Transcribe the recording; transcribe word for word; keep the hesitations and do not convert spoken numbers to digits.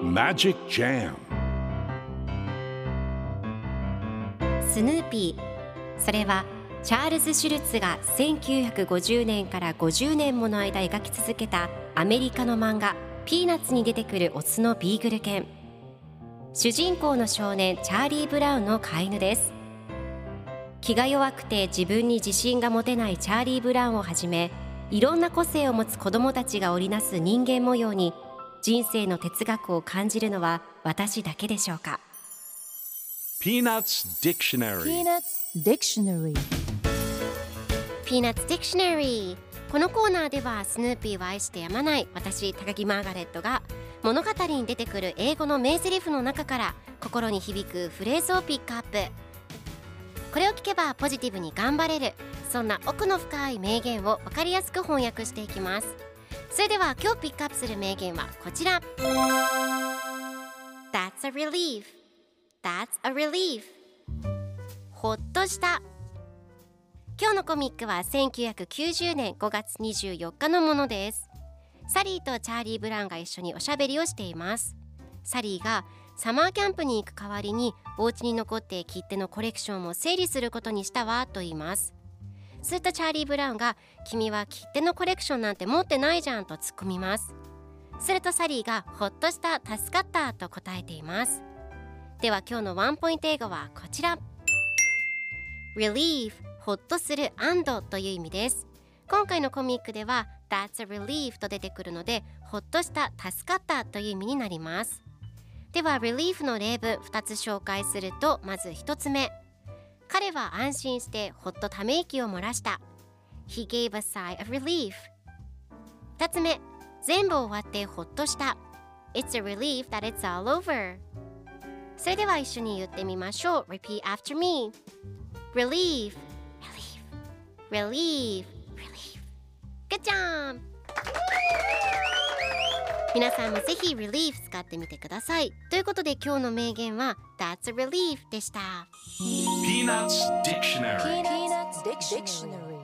Magic Jam スヌーピー、それはチャールズ・シュルツがせんきゅうひゃくごじゅうねんからごじゅうねんもの間描き続けたアメリカの漫画ピーナッツに出てくるオスのビーグル犬。主人公の少年チャーリー・ブラウンの飼い犬です。気が弱くて自分に自信が持てないチャーリー・ブラウンをはじめ、いろんな個性を持つ子どもたちが織りなす人間模様に人生の哲学を感じるのは私だけでしょうか。 Peanuts Dictionary Peanuts Dictionary Peanuts Dictionary。 このコーナーではスヌーピーを愛してやまない私高木マーガレットが物語に出てくる英語の名台詞の中から心に響くフレーズをピックアップ。これを聞けばポジティブに頑張れる、そんな奥の深い名言を分かりやすく翻訳していきます。それでは今日ピックアップする名言はこちら。 That's a relief That's a relief ほっとした。今日のコミックはせんきゅうひゃくきゅうじゅうねんごがつにじゅうよっかのものです。サリーとチャーリー・ブラウンが一緒におしゃべりをしています。サリーがサマーキャンプに行く代わりにお家に残って切手のコレクションを整理することにしたわと言います。するとチャーリー・ブラウンが、君は切手のコレクションなんて持ってないじゃんと突っ込みます。するとサリーが、ほっとした、助かったと答えています。では今日のワンポイント英語はこちら。 Relief、 ほっとする、安堵という意味です。今回のコミックでは That's a relief と出てくるので、ほっとした、助かったという意味になります。では relief の例文ふたつ紹介すると、まずひとつめ、彼は安心してほっとため息を漏らした。 He gave a sigh of relief。 ふたつめ、全部終わってほっとした。 It's a relief that it's all over。 それでは一緒に言ってみましょう。 Repeat after me。 Relief Relief Relief Relief Good job。 皆さんもぜひ Relief 使ってみてください。ということで今日の名言は That's a relief でした。 Peanuts Dictionary Peanuts Dictionary